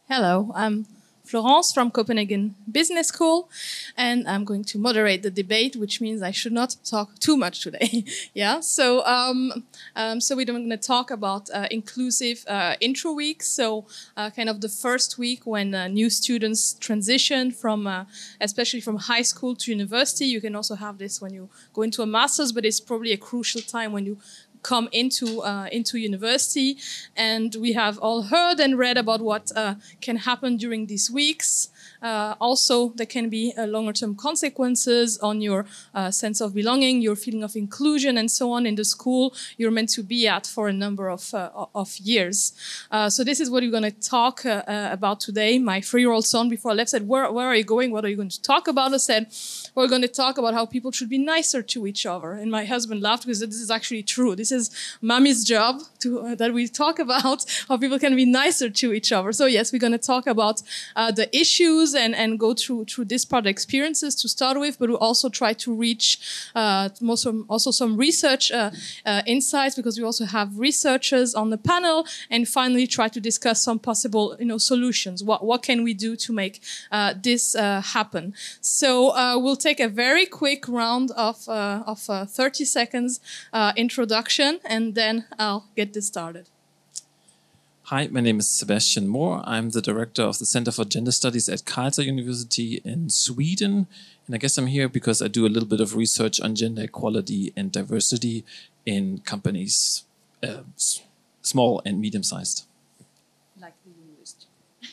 Hello, I'm Florence from Copenhagen Business School, and I'm going to moderate the debate, which means I should not talk too much today. Yeah, so we're going to talk about inclusive intro week. So, kind of the first week when new students transition from, especially from high school to university. You can also have this when you go into a master's, but it's probably a crucial time when you come into university, and we have all heard and read about what can happen during these weeks. Also, there can be longer-term consequences on your sense of belonging, your feeling of inclusion, and so on in the school you're meant to be at for a number of years. So this is what we're going to talk about today. My 3-year-old son, before I left, said, where are you going? What are you going to talk about? I said, we're going to talk about how people should be nicer to each other. And my husband laughed because this is actually true. This is mommy's job that we talk about how people can be nicer to each other. So yes, we're going to talk about the issues and go through this part of experiences to start with, but we'll also try to reach also some research insights, because we also have researchers on the panel, and finally try to discuss some possible solutions. What can we do to make this happen? So we'll take a very quick round of 30 seconds introduction, and then I'll get this started. Hi, my name is Sebastian Mohr. I'm the director of the Center for Gender Studies at Karlstad University in Sweden. And I guess I'm here because I do a little bit of research on gender equality and diversity in companies, small and medium-sized. Like the university.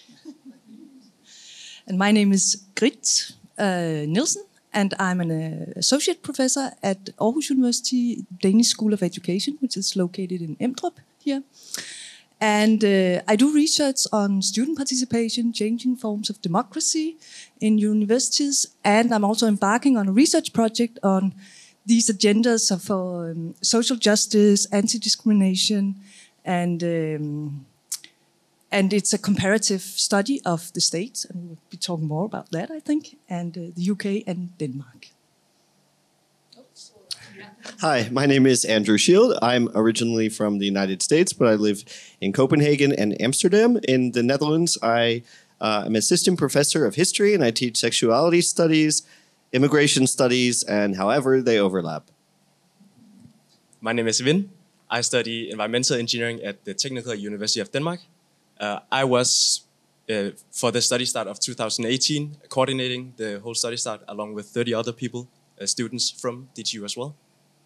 And my name is Grit Nielsen, and I'm an associate professor at Aarhus University Danish School of Education, which is located in Emdrup here. And I do research on student participation, changing forms of democracy in universities. And I'm also embarking on a research project on these agendas for social justice, anti-discrimination, and it's a comparative study of the States. And we'll be talking more about that, I think, and the UK and Denmark. Hi, my name is Andrew Shield. I'm originally from the United States, but I live in Copenhagen and Amsterdam. In the Netherlands, I am assistant professor of history, and I teach sexuality studies, immigration studies, and however they overlap. My name is Vin. I study environmental engineering at the Technical University of Denmark. I was, for the study start of 2018, coordinating the whole study start along with 30 other people, students from DTU as well.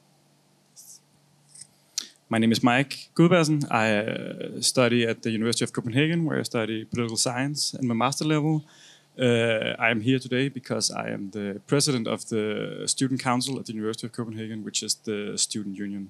My name is Mike Gudbergsen. I study at the University of Copenhagen, where I study political science in my master level. I am here today because I am the president of the Student Council at the University of Copenhagen, which is the student union.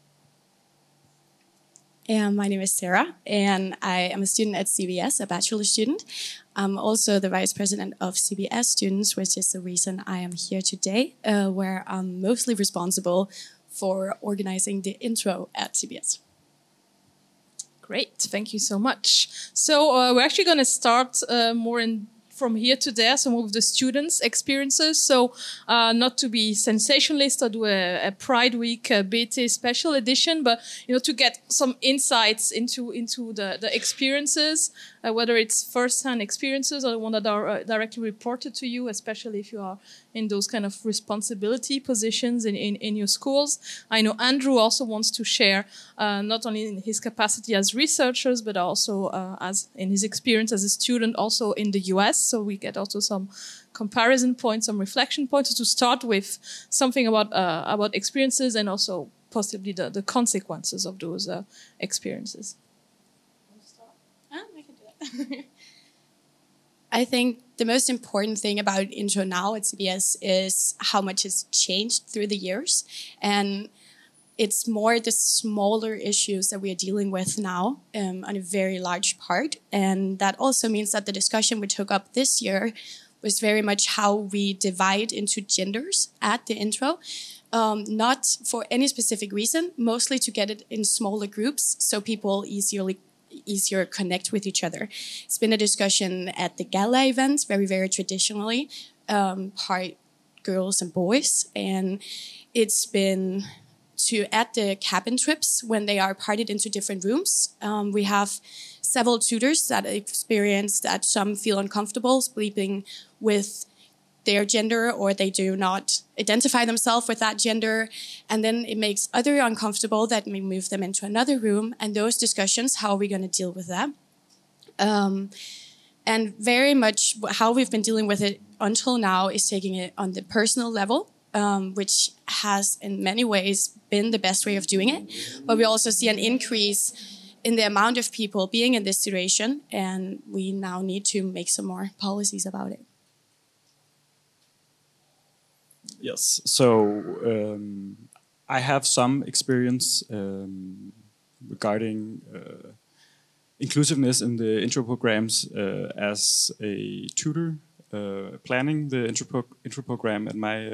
And my name is Sarah, and I am a student at CBS, a bachelor student. I'm also the vice president of CBS students, which is the reason I am here today, where I'm mostly responsible for organizing the intro at CBS. Great, thank you so much. So we're actually going to start more from here to there, some of the students' experiences. So not to be sensationalist or do a Pride Week BT special edition, but to get some insights into the experiences, whether it's first-hand experiences or the one that are directly reported to you, especially if you are in those kind of responsibility positions in your schools. I know Andrew also wants to share not only in his capacity as researchers, but also as in his experience as a student also in the US. So we get also some comparison points, some reflection points to start with, something about experiences and also possibly the consequences of those experiences. I can do that. I think the most important thing about intro now at CBS is how much has changed through the years. And it's more the smaller issues that we are dealing with now on a very large part. And that also means that the discussion we took up this year was very much how we divide into genders at the intro. Not for any specific reason, mostly to get it in smaller groups so people easier connect with each other. It's been a discussion at the gala events, very, very traditionally, part girls and boys. And it's been at the cabin trips when they are parted into different rooms. We have several tutors that experience that some feel uncomfortable sleeping with their gender, or they do not identify themselves with that gender. And then it makes other uncomfortable that may move them into another room. And those discussions, how are we going to deal with that? And very much how we've been dealing with it until now is taking it on the personal level, which has in many ways been the best way of doing it. But we also see an increase in the amount of people being in this situation, and we now need to make some more policies about it. Yes, so I have some experience regarding inclusiveness in the intro programs as a tutor, planning the intro program at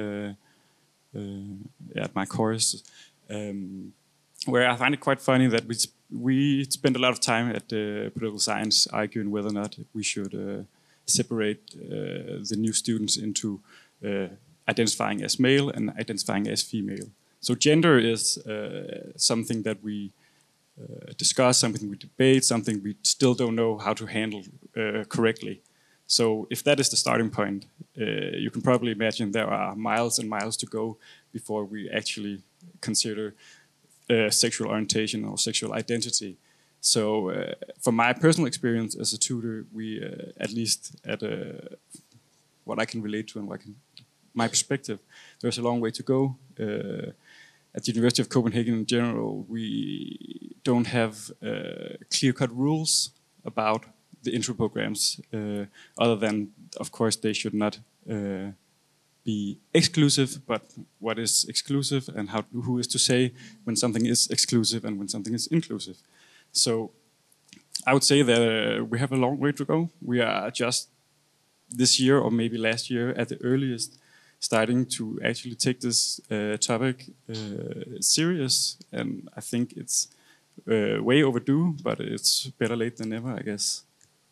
my course, where I find it quite funny that we spend a lot of time at political science arguing whether or not we should separate the new students into identifying as male and identifying as female. So gender is something that we discuss, something we debate, something we still don't know how to handle correctly. So if that is the starting point, you can probably imagine there are miles and miles to go before we actually consider sexual orientation or sexual identity. So from my personal experience as a tutor, we at least at what I can relate to and my perspective, there's a long way to go. At the University of Copenhagen in general, we don't have clear-cut rules about the intro programs, other than, of course, they should not be exclusive, but what is exclusive and who is to say when something is exclusive and when something is inclusive. So I would say that we have a long way to go. We are just this year or maybe last year at the earliest starting to actually take this topic serious, and I think it's way overdue, but it's better late than never, I guess.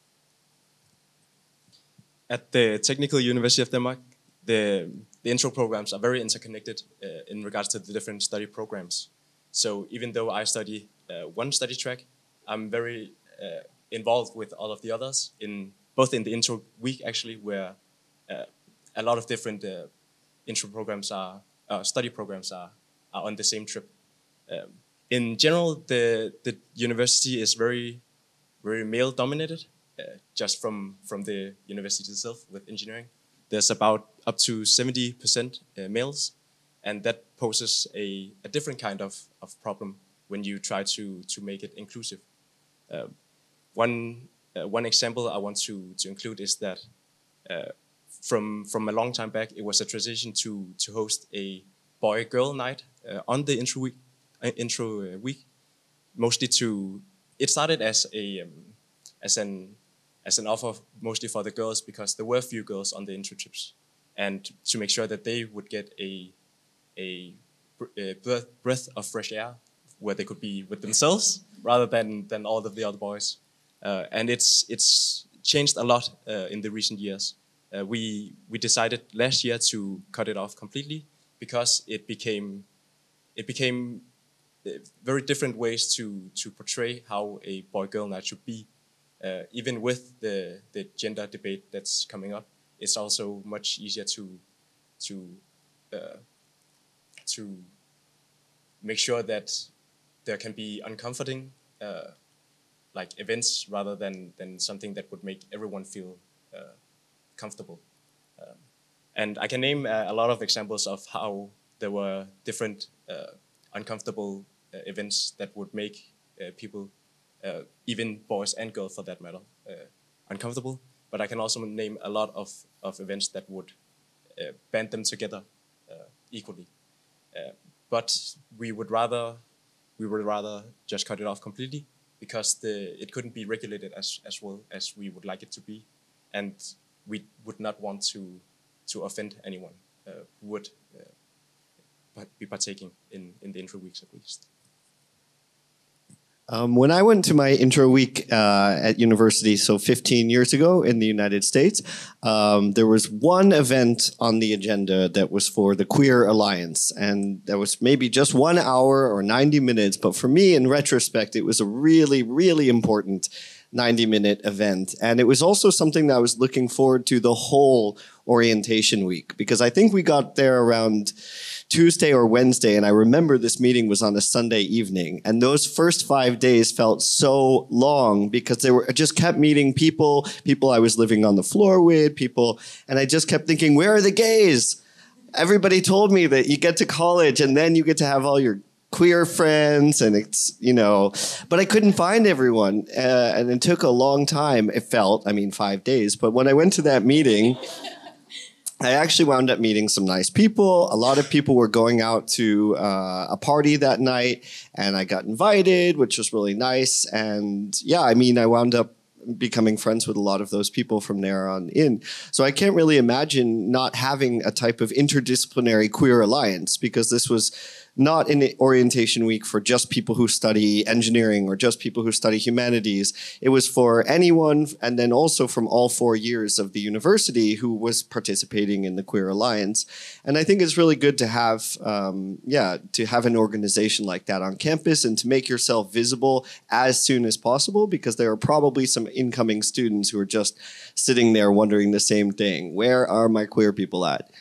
At the Technical University of Denmark, the intro programs are very interconnected in regards to the different study programs. So even though I study one study track, I'm very involved with all of the others, both in the intro week actually, where a lot of different intro programs study programs are on the same trip. In general, the university is very, very male dominated, just from the university itself with engineering. There's about up to 70% males, and that poses a different kind of problem when you try to make it inclusive. One example I want to include is that from a long time back, it was a tradition to host a boy-girl night on the intro week, mostly it started as an offer mostly for the girls, because there were few girls on the intro trips, and to make sure that they would get a breath of fresh air where they could be with themselves rather than all of the other boys. And it's changed a lot in the recent years. We decided last year to cut it off completely because it became very different ways to portray how a boy-girl night should be. Even with the gender debate that's coming up, it's also much easier to make sure that there can be uncomforting like events rather than something that would make everyone feel comfortable. And I can name a lot of examples of how there were different uncomfortable events that would make people, even boys and girls for that matter, uncomfortable. But I can also name a lot of events that would band them together equally. But we would rather just cut it off completely, because it couldn't be regulated as well as we would like it to be, and we would not want to offend anyone who would be partaking in the intro weeks at least. When I went to my intro week at university, so 15 years ago in the United States, there was one event on the agenda that was for the Queer Alliance. And that was maybe just 1 hour or 90 minutes. But for me, in retrospect, it was a really, really important 90-minute event. And it was also something that I was looking forward to the whole orientation week, because I think we got there around Tuesday or Wednesday, and I remember this meeting was on a Sunday evening, and those first 5 days felt so long because I just kept meeting people I was living on the floor with, and I just kept thinking, where are the gays? Everybody told me that you get to college and then you get to have all your queer friends, and it's, but I couldn't find everyone, and it took a long time. It felt, 5 days, but when I went to that meeting, I actually wound up meeting some nice people. A lot of people were going out to a party that night, and I got invited, which was really nice. And yeah, I wound up becoming friends with a lot of those people from there on in. So I can't really imagine not having a type of interdisciplinary queer alliance, because this was not an orientation week for just people who study engineering or just people who study humanities. It was for anyone, and then also from all 4 years of the university who was participating in the Queer Alliance. And I think it's really good to have, to have an organization like that on campus and to make yourself visible as soon as possible, because there are probably some incoming students who are just sitting there wondering the same thing. Where are my queer people at?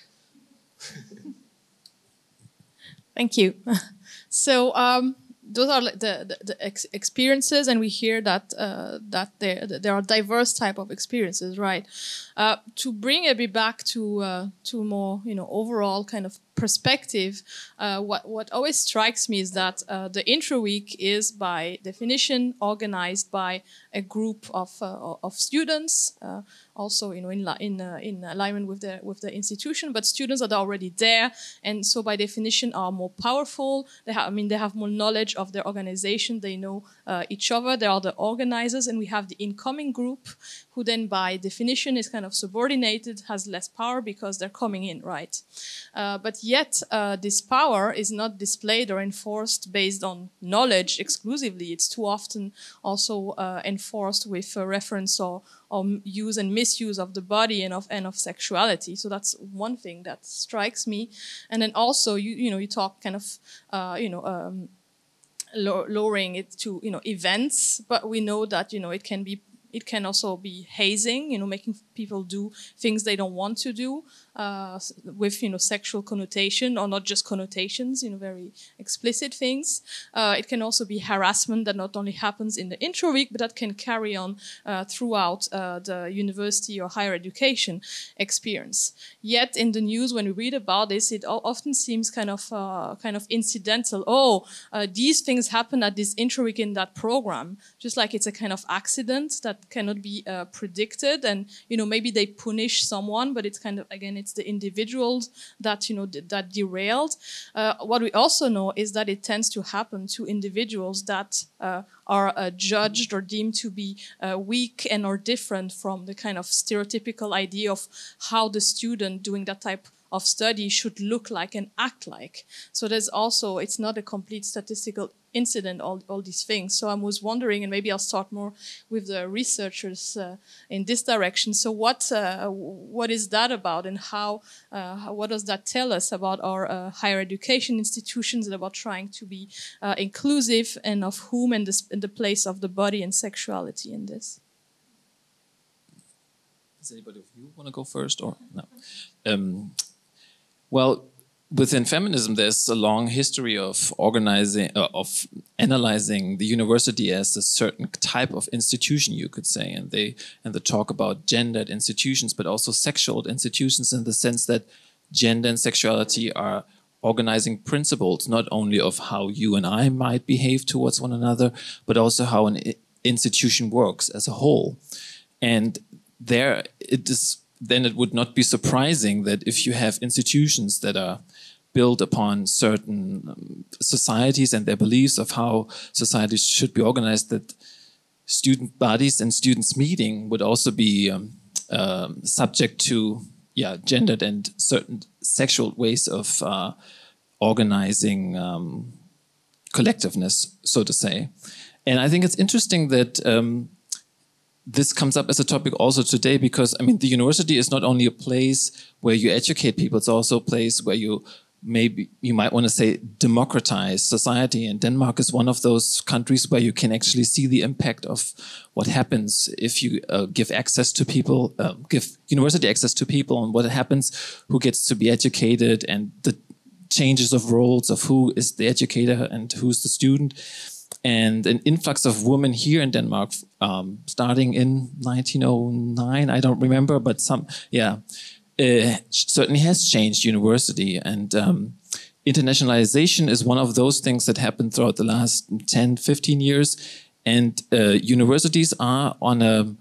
Thank you. So those are the experiences, and we hear that that there are diverse type of experiences, right? To bring a bit back to more overall kind of perspective, what always strikes me is that the intro week is by definition organized by a group of students, also in alignment with the institution, but students that are already there, and so by definition are more powerful. They have more knowledge of their organization. They know each other. They are the organizers, and we have the incoming group, who then by definition is kind of subordinated, has less power because they're coming in, right? But yet this power is not displayed or enforced based on knowledge exclusively. It's too often also enforced with a reference or use and misuse of the body and of sexuality. So that's one thing that strikes me. And then also you talk kind of lowering it to events, but we know that it can also be hazing, making people do things they don't want to do, with sexual connotation, or not just connotations, very explicit things. It can also be harassment that not only happens in the intro week, but that can carry on throughout the university or higher education experience. Yet in the news, when we read about this, it often seems kind of incidental. These things happen at this intro week in that program, just like it's a kind of accident that cannot be predicted, and maybe they punish someone, but it's kind of, again, it's the individuals that that derailed. What we also know is that it tends to happen to individuals that are judged or deemed to be weak and or different from the kind of stereotypical idea of how the student doing that type of study should look like and act like. So there's also, it's not a complete statistical incident, all these things. So I was wondering, and maybe I'll start more with the researchers in this direction. So what is that about, and what does that tell us about our higher education institutions and about trying to be inclusive, and of whom, and the place of the body and sexuality in this? Does anybody of you want to go first, or no? Well, within feminism, there's a long history of analyzing the university as a certain type of institution, you could say, and they talk about gendered institutions, but also sexual institutions, in the sense that gender and sexuality are organizing principles, not only of how you and I might behave towards one another, but also how an institution works as a whole. And then it would not be surprising that if you have institutions that are built upon certain societies and their beliefs of how societies should be organized, that student bodies and students meeting would also be subject to gendered and certain sexual ways of organizing collectiveness, so to say. And I think it's interesting that this comes up as a topic also today, because the university is not only a place where you educate people, it's also a place where you maybe you might want to say democratize society. And Denmark is one of those countries where you can actually see the impact of what happens if you give access to people, give university access to people, and what happens, who gets to be educated, and the changes of roles of who is the educator and who's the student. And an influx of women here in Denmark, starting in 1909, I don't remember, but certainly has changed university. And internationalization is one of those things that happened throughout the last 10, 15 years. And universities are on a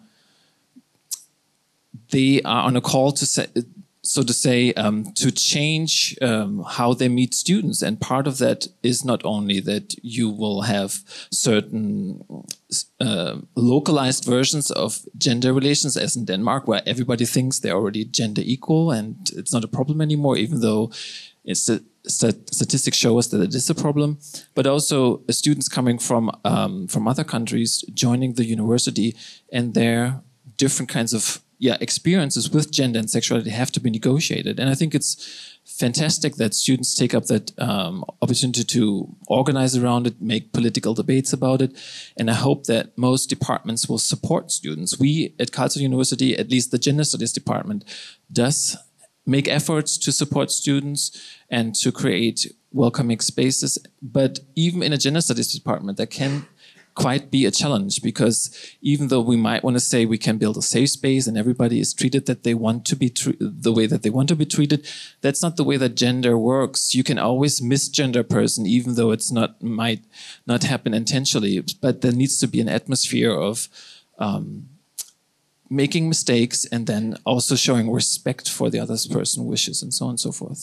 call to say, to change how they meet students. And part of that is not only that you will have certain localized versions of gender relations, as in Denmark, where everybody thinks they're already gender equal and it's not a problem anymore, even though statistics show us that it is a problem. But also students coming from other countries joining the university, and their different kinds of experiences with gender and sexuality have to be negotiated. And I think it's fantastic that students take up that opportunity to organize around it, make political debates about it. And I hope that most departments will support students. We at Karlsruhe University, at least the Gender Studies department, does make efforts to support students and to create welcoming spaces. But even in a Gender Studies department, that can quite be a challenge, because even though we might want to say we can build a safe space and everybody is treated that they want to be the way that they want to be treated, that's not the way that gender works. You can always misgender a person, even though it's might not happen intentionally. But there needs to be an atmosphere of making mistakes and then also showing respect for the other person's wishes, and so on and so forth.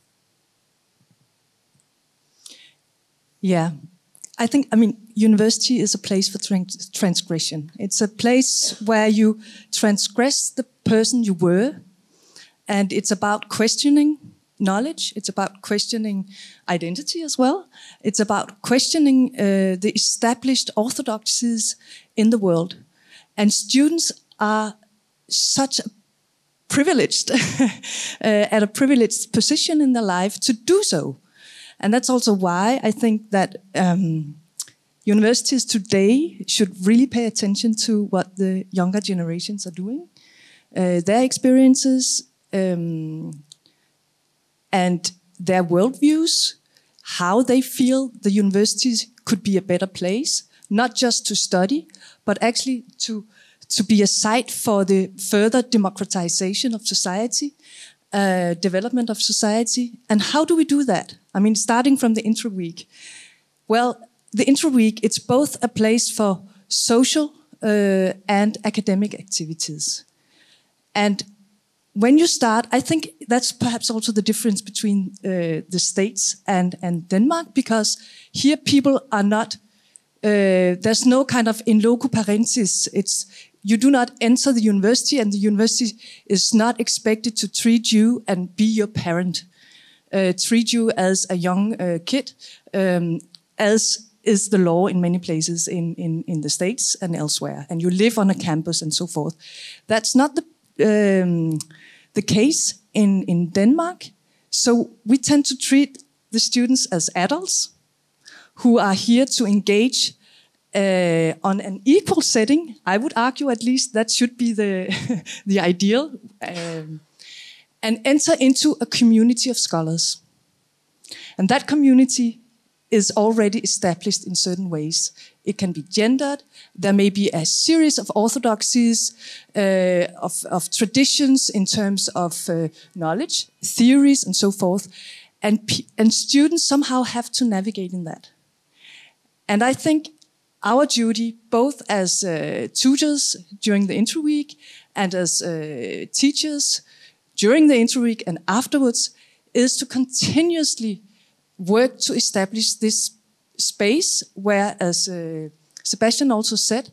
Yeah. University is a place for transgression. It's a place where you transgress the person you were, and it's about questioning knowledge. It's about questioning identity as well. It's about questioning the established orthodoxies in the world. And students are such a privileged, at a privileged position in their life to do so. And that's also why I think that universities today should really pay attention to what the younger generations are doing, their experiences, and their worldviews, how they feel the universities could be a better place, not just to study, but actually to be a site for the further democratization of society, development of society. And how do we do that? Starting from the intro week. Well, the intro week, it's both a place for social and academic activities. And when you start, I think that's perhaps also the difference between the States and Denmark, because here people are not, there's no kind of in loco parentis. You do not enter the university, and the university is not expected to treat you and be your parent, treat you as a young kid, as is the law in many places in the States and elsewhere. And you live on a campus and so forth. That's not the case in Denmark. So we tend to treat the students as adults who are here to engage on an equal setting. I would argue at least that should be the ideal, and enter into a community of scholars. And that community is already established in certain ways. It can be gendered. There may be a series of orthodoxies, of traditions in terms of knowledge, theories, and so forth. And students somehow have to navigate in that. And I think our duty, both as tutors during the intro week and as teachers during the intro week and afterwards, is to continuously work to establish this space where, as Sebastian also said,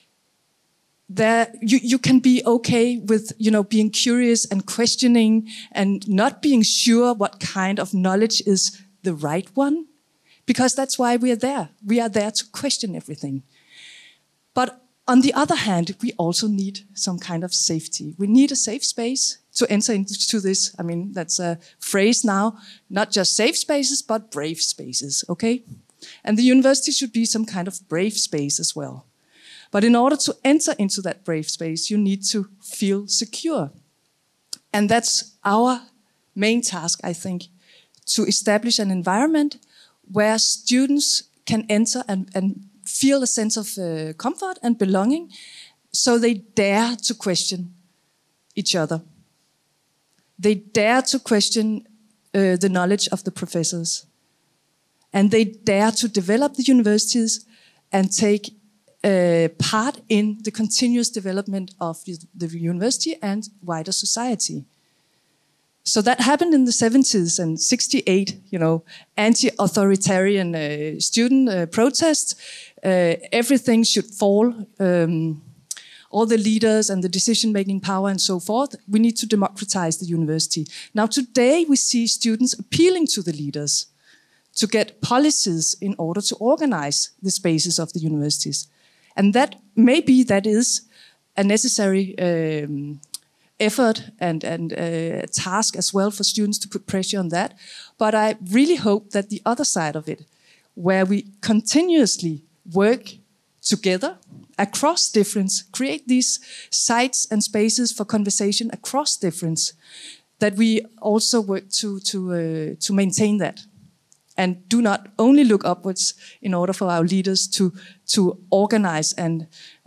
you can be okay with being curious and questioning and not being sure what kind of knowledge is the right one. Because that's why we are there. We are there to question everything. But On the other hand, we also need some kind of safety. We need a safe space to enter into this. I mean, that's a phrase now, not just safe spaces, but brave spaces, okay? And the university should be some kind of brave space as well. But in order to enter into that brave space, you need to feel secure. And that's our main task, I think, to establish an environment where students can enter and feel a sense of comfort and belonging, so they dare to question each other. They dare to question the knowledge of the professors. And they dare to develop the universities and take part in the continuous development of the university and wider society. So that happened in the 70s and 68, anti-authoritarian student protests. Everything should fall. All the leaders and the decision-making power and so forth. We need to democratize the university. Now today we see students appealing to the leaders to get policies in order to organize the spaces of the universities. And that is a necessary effort and a task as well for students to put pressure on that. But I really hope that the other side of it, where we continuously work together across difference, create these sites and spaces for conversation across difference, that we also work to maintain that. And do not only look upwards in order for our leaders to organize and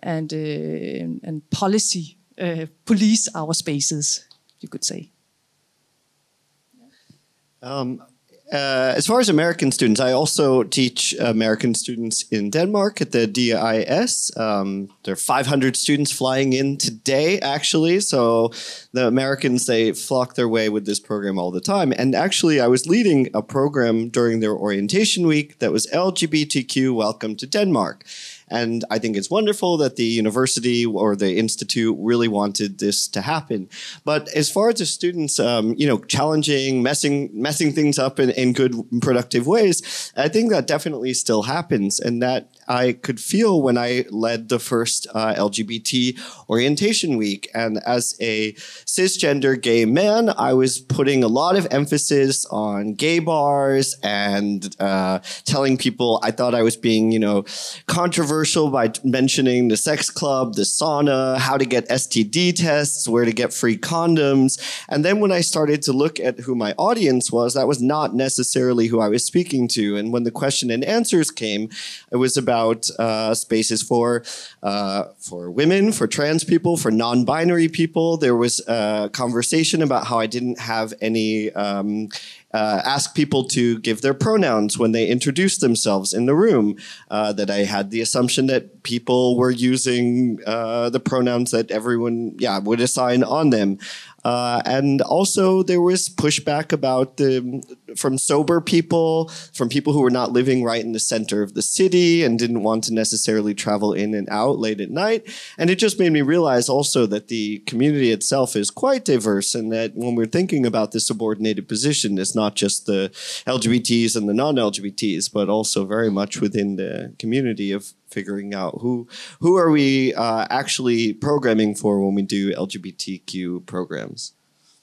police our spaces, you could say. As far as American students, I also teach American students in Denmark at the DIS. There are 500 students flying in today, actually. So the Americans, they flock their way with this program all the time. And actually, I was leading a program during their orientation week that was LGBTQ Welcome to Denmark. And I think it's wonderful that the university or the institute really wanted this to happen. But as far as the students, challenging, messing things up in good, productive ways, I think that definitely still happens. And that I could feel when I led the first LGBT orientation week. And as a cisgender gay man, I was putting a lot of emphasis on gay bars and telling people I thought I was being, controversial by mentioning the sex club, the sauna, how to get STD tests, where to get free condoms. And then when I started to look at who my audience was, that was not necessarily who I was speaking to. And when the question and answers came, it was about spaces for women, for trans people, for non-binary people. There was a conversation about how I didn't have any ask people to give their pronouns when they introduced themselves in the room, that I had the assumption that people were using the pronouns that everyone would assign on them. And also there was pushback about from sober people, from people who were not living right in the center of the city and didn't want to necessarily travel in and out late at night. And it just made me realize also that the community itself is quite diverse, and that when we're thinking about the subordinated position, it's not just the LGBTs and the non-LGBTs, but also very much within the community of figuring out who are we actually programming for when we do LGBTQ programs.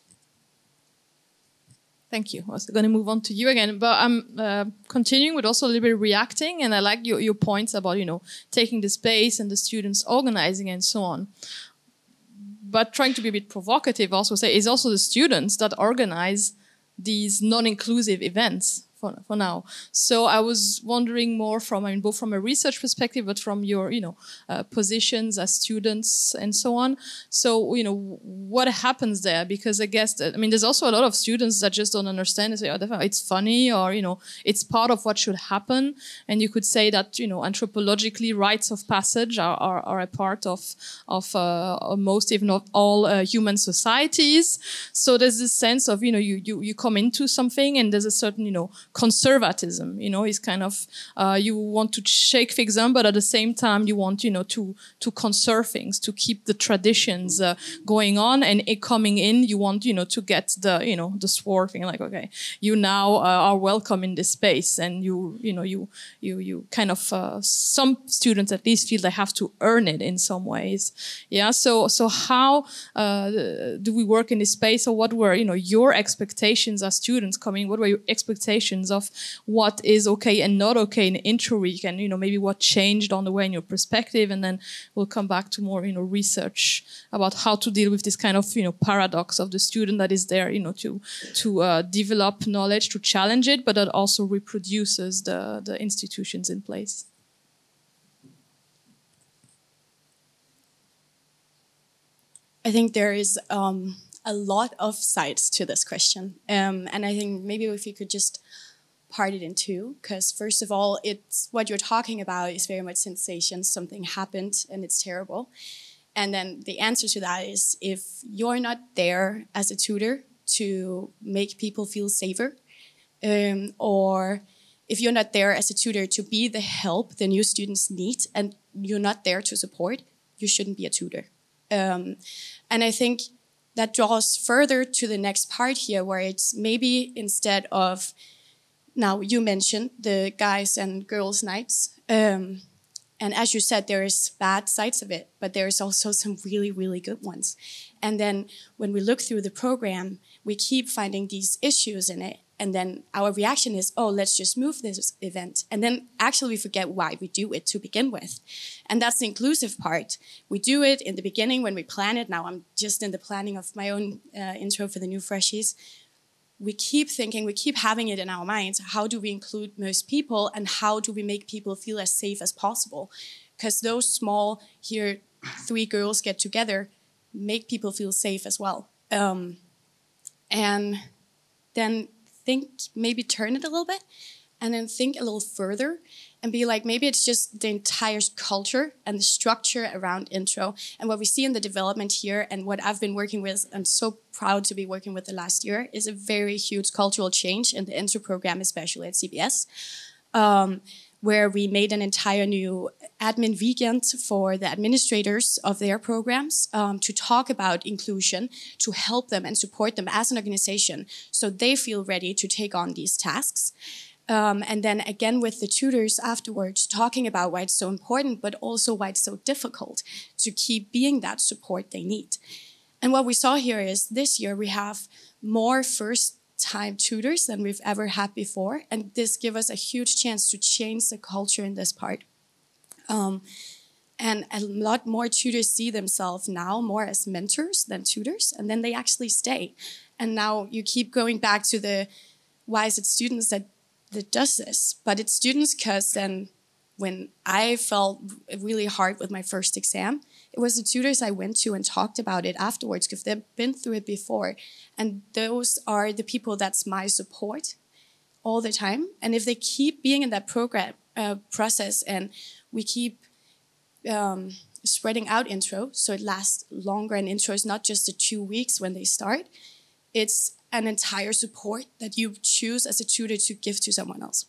Thank you. I was going to move on to you again, but I'm continuing with also a little bit reacting, and I like your points about, taking the space and the students organizing and so on. But trying to be a bit provocative, also say it's also the students that organize these non-inclusive events for now. So I was wondering more from, both from a research perspective, but from your, positions as students and so on. So, what happens there? Because I guess there's also a lot of students that just don't understand and say, it's funny, or, it's part of what should happen. And you could say that, anthropologically, rites of passage are a part of most, if not all, human societies. So there's this sense of, you come into something and there's a certain, conservatism. It's kind of you want to shake things up, but at the same time you want to conserve things, to keep the traditions going on, and it coming in you want to get the sword thing, like, okay, you now are welcome in this space, and you kind of some students at least feel they have to earn it in some ways. Yeah. So how do we work in this space, or what were your expectations as students coming? What were your expectations of what is okay and not okay in Intro Week, and maybe what changed on the way in your perspective, and then we'll come back to more research about how to deal with this kind of paradox of the student that is there to develop knowledge, to challenge it, but that also reproduces the institutions in place. I think there is a lot of sides to this question. And I think maybe if you could just part it in two, because first of all, it's what you're talking about is very much sensation. Something happened and it's terrible. And then the answer to that is, if you're not there as a tutor to make people feel safer, or if you're not there as a tutor to be the help the new students need, and you're not there to support, you shouldn't be a tutor. And I think that draws further to the next part here, where it's maybe instead of, now you mentioned the guys and girls nights, and as you said, there is bad sides of it, but there is also some really, really good ones. And then when we look through the program, we keep finding these issues in it. And then our reaction is, oh, let's just move this event. And then actually we forget why we do it to begin with. And that's the inclusive part. We do it in the beginning when we plan it. Now I'm just in the planning of my own intro for the new freshies. We keep thinking, we keep having it in our minds, how do we include most people, and how do we make people feel as safe as possible? Because those small, here 3 girls get together, make people feel safe as well. And then maybe turn it a little bit, and then think a little further and be like, maybe it's just the entire culture and the structure around intro. And what we see in the development here, and what I've been working with, and so proud to be working with the last year, is a very huge cultural change in the intro program, especially at CBS, where we made an entire new admin weekend for the administrators of their programs to talk about inclusion, to help them and support them as an organization so they feel ready to take on these tasks. And then again with the tutors afterwards, talking about why it's so important, but also why it's so difficult to keep being that support they need. And what we saw here is this year we have more first-time tutors than we've ever had before. And this gives us a huge chance to change the culture in this part. And a lot more tutors see themselves now more as mentors than tutors, and then they actually stay. And now you keep going back to the, why is it students that does this? But it's students because then when I felt really hard with my first exam, it was the tutors I went to and talked about it afterwards because they've been through it before. And those are the people that's my support all the time. And if they keep being in that program process, and we keep spreading out intro, so it lasts longer, and intro is not just the 2 weeks when they start, it's an entire support that you choose as a tutor to give to someone else.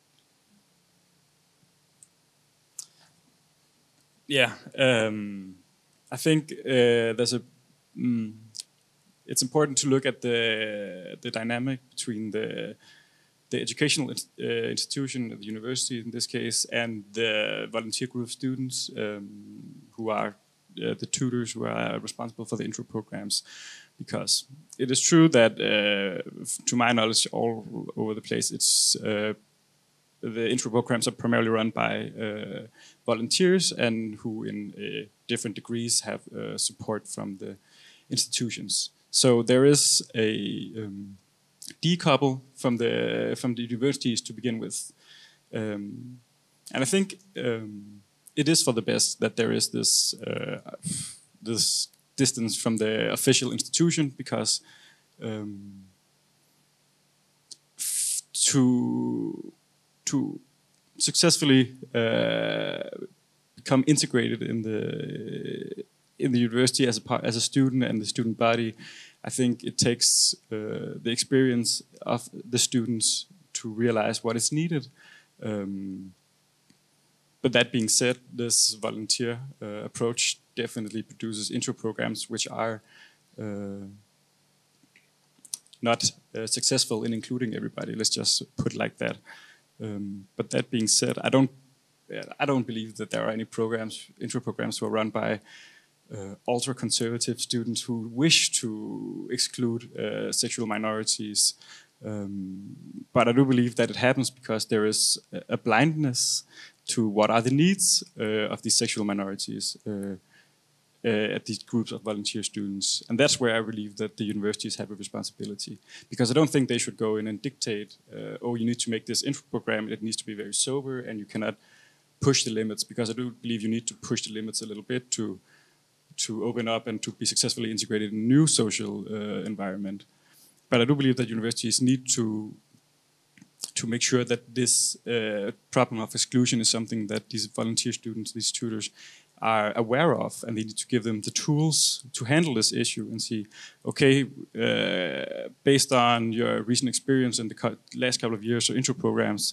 Yeah, I think there's it's important to look at the dynamic between the educational institution, the university in this case, and the volunteer group of students who are the tutors who are responsible for the intro programs. Because it is true that, to my knowledge, all over the place, it's the intro programs are primarily run by volunteers, and who in different degrees have support from the institutions. So there is a decouple from the universities to begin with, and I think it is for the best that there is this this distance from the official institution, because to successfully become integrated in the university as a student and the student body, I think it takes the experience of the students to realize what is needed. But that being said, this volunteer approach definitely produces intro programs which are not successful in including everybody. Let's just put it like that. But that being said, I don't believe that there are any intro programs who are run by ultra-conservative students who wish to exclude sexual minorities. But I do believe that it happens because there is a blindness to what are the needs of these sexual minorities at these groups of volunteer students. And that's where I believe that the universities have a responsibility. Because I don't think they should go in and dictate, oh, you need to make this intro program, it needs to be very sober, and you cannot push the limits. Because I do believe you need to push the limits a little bit to open up and to be successfully integrated in a new social environment. But I do believe that universities need to make sure that this problem of exclusion is something that these volunteer students, these tutors, are aware of, and they need to give them the tools to handle this issue and see, okay, based on your recent experience in the last couple of years of intro programs,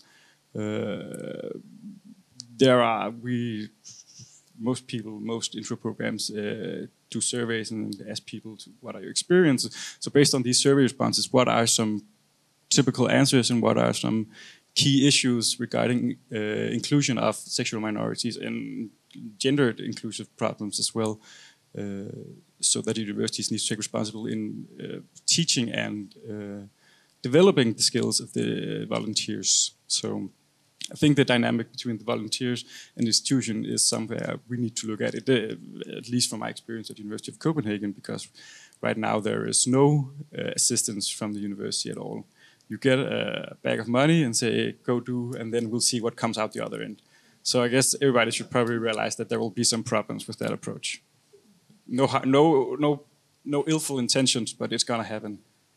most intro programs do surveys and ask people what are your experiences. So based on these survey responses, what are some typical answers and what are some key issues regarding inclusion of sexual minorities and gendered inclusive problems as well, so that universities need to take responsibility in teaching and developing the skills of the volunteers. So I think the dynamic between the volunteers and the institution is somewhere we need to look at it, at least from my experience at the University of Copenhagen, because right now there is no assistance from the university at all. You get a bag of money and say, go do, and then we'll see what comes out the other end. So I guess everybody should probably realize that there will be some problems with that approach. No illful intentions, but it's gonna happen.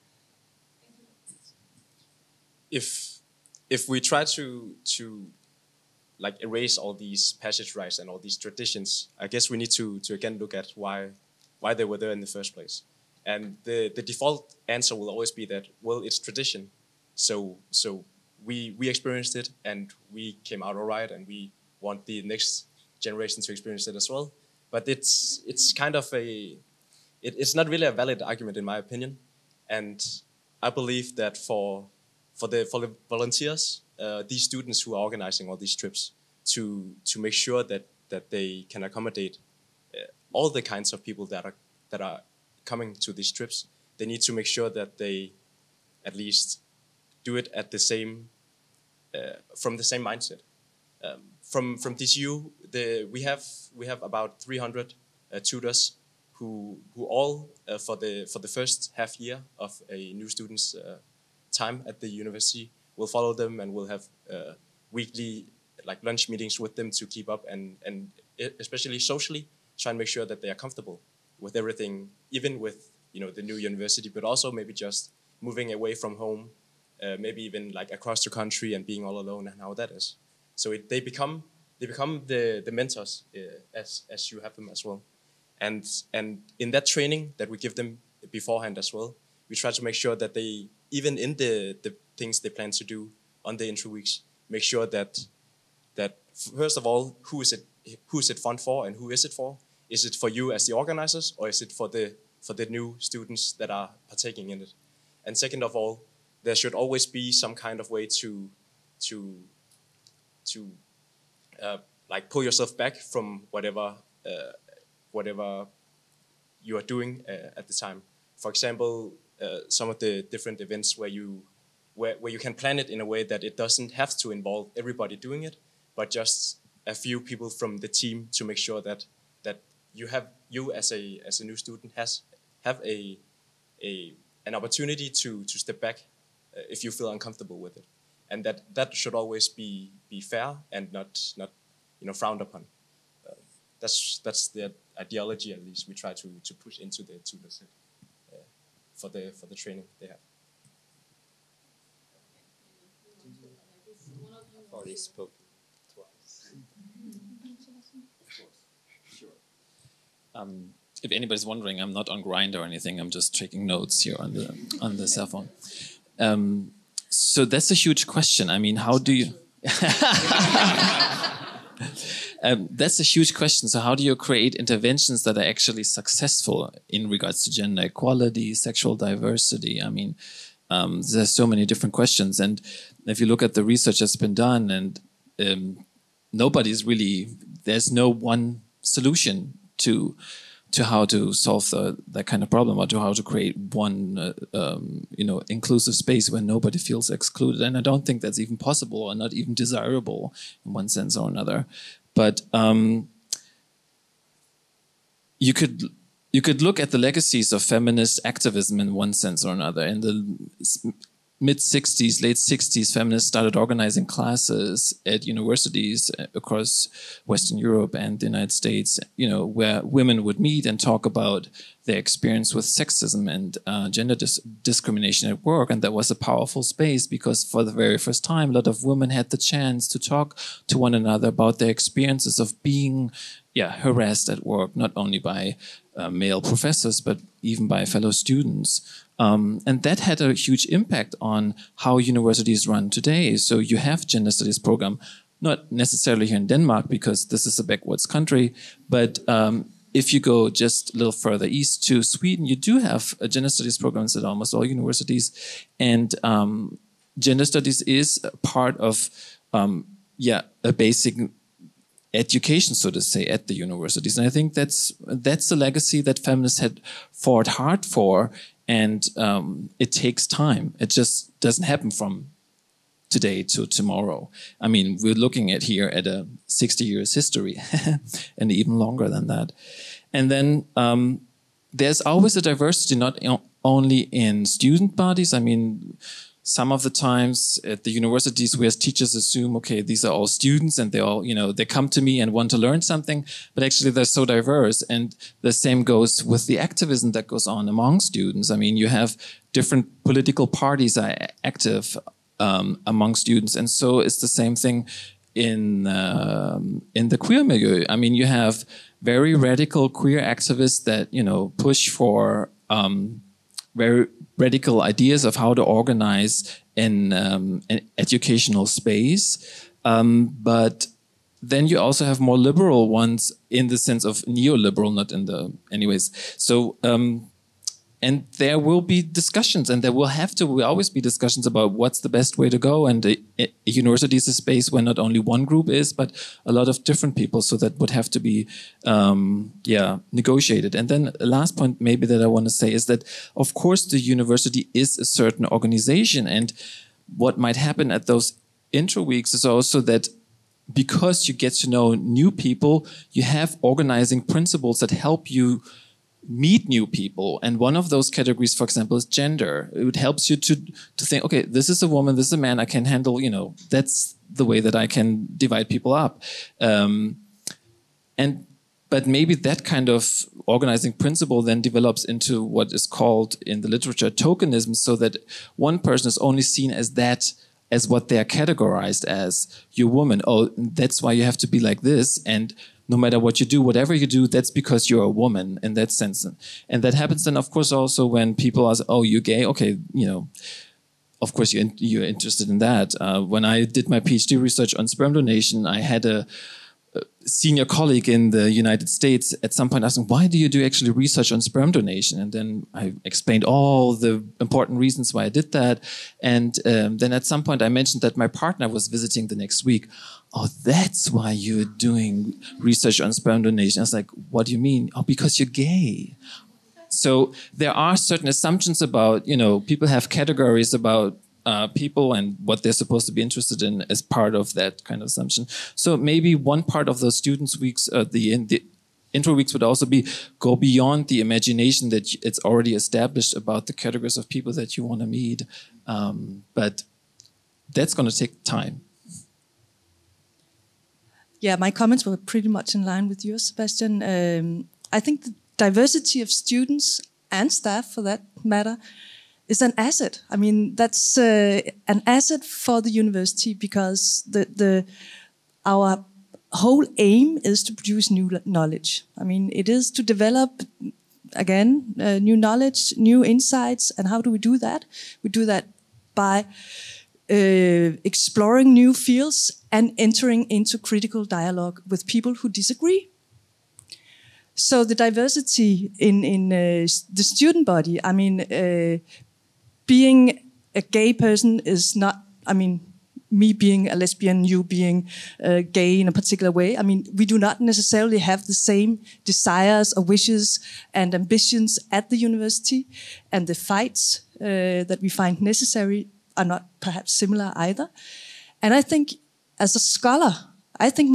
If we try to like erase all these passage rights and all these traditions, I guess we need to again look at why they were there in the first place. And the default answer will always be that, well, it's tradition. So we experienced it and we came out all right, and we want the next generation to experience it as well. But it's kind of it's not really a valid argument in my opinion. And I believe that for the volunteers, these students who are organizing all these trips, to make sure that they can accommodate all the kinds of people that are coming to these trips, they need to make sure that they at least do it at the same from the same mindset. From TCU, we have about 300 tutors who all for the first half year of a new student's time at the university will follow them and will have weekly like lunch meetings with them to keep up and especially socially try and make sure that they are comfortable with everything, even with the new university, but also maybe just moving away from home, maybe even like across the country and being all alone and how that is. So they become the mentors as you have them as well, and in that training that we give them beforehand as well, we try to make sure that they, even in the things they plan to do on the intro weeks, make sure that first of all, who is it fun for and who is it for? Is it for you as the organizers, or is it for the new students that are partaking in it? And second of all, there should always be some kind of way to like pull yourself back from whatever you are doing at the time. For example, some of the different events where you can plan it in a way that it doesn't have to involve everybody doing it, but just a few people from the team to make sure that you as a new student have an opportunity to step back if you feel uncomfortable with it, and that should always be fair and not frowned upon. That's the ideology, at least we try to push into the set for the training they have. I've already spoke twice. If anybody's wondering, I'm not on Grindr or anything. I'm just taking notes here on the cell phone. So that's a huge question. I mean, how do you... That's a huge question. So how do you create interventions that are actually successful in regards to gender equality, sexual diversity? I mean, there's so many different questions. And if you look at the research that's been done, and there's no one solution to how to solve that kind of problem, or to how to create one inclusive space where nobody feels excluded. And I don't think that's even possible, or not even desirable in one sense or another. But you could look at the legacies of feminist activism in one sense or another. In the mid-60s, late 60s, feminists started organizing classes at universities across Western Europe and the United States, where women would meet and talk about their experience with sexism and gender discrimination at work. And that was a powerful space, because for the very first time, a lot of women had the chance to talk to one another about their experiences of being harassed at work, not only by male professors, but even by fellow students. And that had a huge impact on how universities run today. So you have gender studies program, not necessarily here in Denmark, because this is a backwards country, but if you go just a little further east to Sweden, you do have gender studies programs at almost all universities. And gender studies is part of a basic education, so to say, at the universities. And I think that's a legacy that feminists had fought hard for, and it takes time. It just doesn't happen from today to tomorrow. I mean, we're looking at a 60 years history and even longer than that. And then there's always a diversity, not only in student bodies. I mean, some of the times at the universities, we as teachers assume, okay, these are all students and they all, they come to me and want to learn something, but actually they're so diverse. And the same goes with the activism that goes on among students. I mean, you have different political parties are active among students. And so it's the same thing in the queer milieu. I mean, you have very radical queer activists that, push for very radical ideas of how to organize an educational space. But then you also have more liberal ones in the sense of neoliberal, not in the anyways. So, and there will be discussions, and there will always be discussions about what's the best way to go. And a university is a space where not only one group is, but a lot of different people. So that would have to be, negotiated. And then the last point maybe that I want to say is that, of course, the university is a certain organization. And what might happen at those intro weeks is also that because you get to know new people, you have organizing principles that help you meet new people. And one of those categories, for example, is gender. It helps you to think, okay, this is a woman, this is a man, I can handle, that's the way that I can divide people up. But maybe that kind of organizing principle then develops into what is called in the literature tokenism, so that one person is only seen as what they are categorized as. You're a woman. Oh, that's why you have to be like this. And no matter what you do, whatever you do, that's because you're a woman in that sense. And that happens then, of course, also when people ask, oh, you're gay? Okay, of course you're interested in that. When I did my PhD research on sperm donation, I had a senior colleague in the United States at some point asking, why do you do actually research on sperm donation? And then I explained all the important reasons why I did that. And then at some point I mentioned that my partner was visiting the next week. Oh, that's why you're doing research on sperm donation. I was like, what do you mean? Oh, because you're gay. So there are certain assumptions about, people have categories about people and what they're supposed to be interested in as part of that kind of assumption. So maybe one part of the students' weeks, the intro weeks would also be go beyond the imagination that it's already established about the categories of people that you want to meet. But that's going to take time. Yeah, my comments were pretty much in line with yours, Sebastian. I think the diversity of students and staff, for that matter, is an asset. I mean, that's an asset for the university, because our whole aim is to produce new knowledge. I mean, it is to develop, again, new knowledge, new insights. And how do we do that? We do that by exploring new fields, and entering into critical dialogue with people who disagree. So the diversity in the student body, I mean, being a gay person is not, I mean, me being a lesbian, you being gay in a particular way. I mean, we do not necessarily have the same desires or wishes and ambitions at the university, and the fights that we find necessary are not perhaps similar either. And I think as a scholar, I think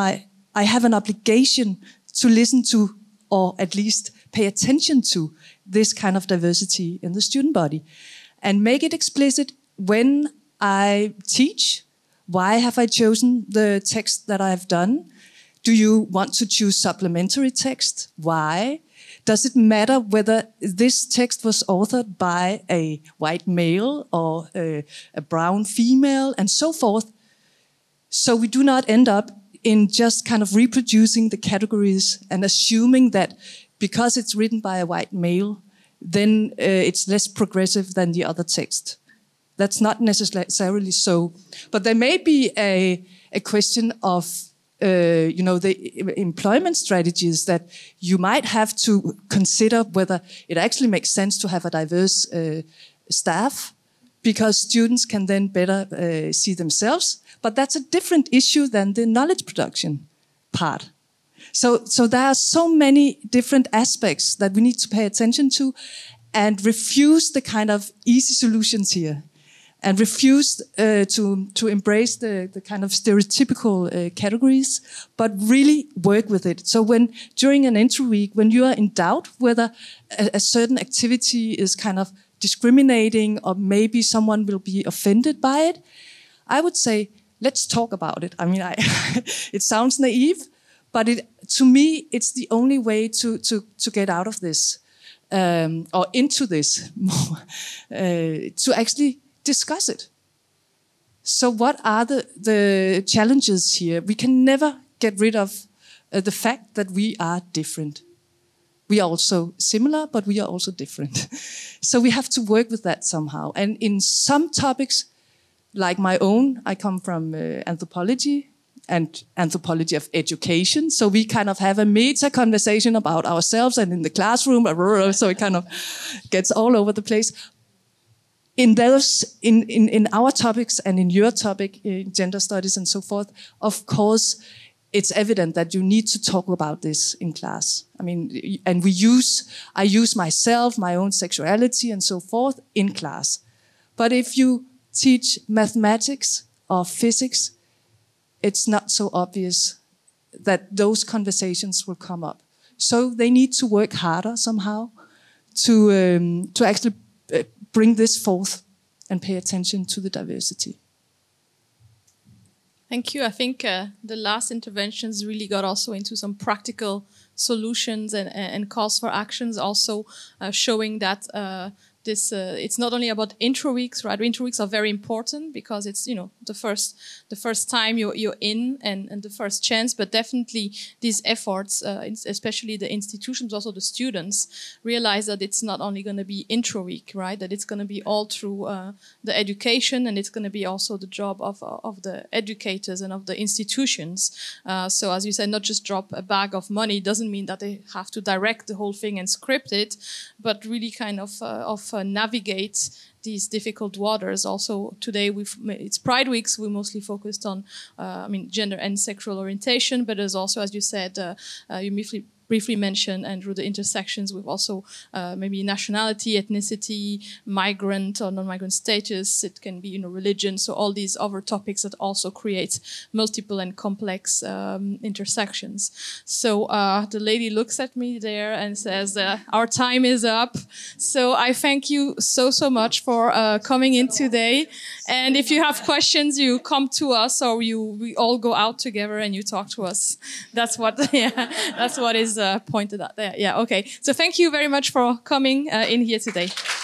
I have an obligation to listen to, or at least pay attention to, this kind of diversity in the student body, and make it explicit when I teach. Why have I chosen the text that I've done? Do you want to choose supplementary text? Why? Does it matter whether this text was authored by a white male or a brown female, and so forth? So we do not end up in just kind of reproducing the categories and assuming that because it's written by a white male, then it's less progressive than the other text. That's not necessarily so. But there may be a question of, the employment strategies that you might have to consider whether it actually makes sense to have a diverse staff, because students can then better see themselves. But that's a different issue than the knowledge production part. So there are so many different aspects that we need to pay attention to, and refuse the kind of easy solutions here, and refuse to embrace the kind of stereotypical categories, but really work with it. So when during an intro week, when you are in doubt whether a certain activity is kind of discriminating, or maybe someone will be offended by it, I would say, let's talk about it. I mean, it sounds naive, but to me, it's the only way to get out of this, or into this more, to actually discuss it. So what are the challenges here? We can never get rid of the fact that we are different. We are also similar, but we are also different. So we have to work with that somehow. And in some topics, like my own, I come from anthropology and anthropology of education. So we kind of have a meta conversation about ourselves and in the classroom, so it kind of gets all over the place. In those, in our topics and in your topic, gender studies and so forth, of course, it's evident that you need to talk about this in class. I mean, and I use myself, my own sexuality and so forth in class. But if you teach mathematics or physics, it's not so obvious that those conversations will come up. So they need to work harder somehow to actually bring this forth and pay attention to the diversity. Thank you. I think the last interventions really got also into some practical solutions and calls for actions, also showing that it's not only about intro weeks, right? Intro weeks are very important because it's, the first time you're in and the first chance, but definitely these efforts, especially the institutions, also the students, realize that it's not only going to be intro week, right? That it's going to be all through the education, and it's going to be also the job of the educators and of the institutions. So as you said, not just drop a bag of money doesn't mean that they have to direct the whole thing and script it, but really kind of navigate these difficult waters. Also today, it's Pride Weeks. We mostly focused on, gender and sexual orientation, but there's also, as you said, you briefly mentioned, Andrew, the intersections with also maybe nationality, ethnicity, migrant or non-migrant status. It can be, religion. So all these other topics that also create multiple and complex intersections. So the lady looks at me there and says, our time is up. So I thank you so much for coming in today. And if you have questions, you come to us, or we all go out together and you talk to us. That's what is pointed out there. Yeah, okay. So thank you very much for coming in here today.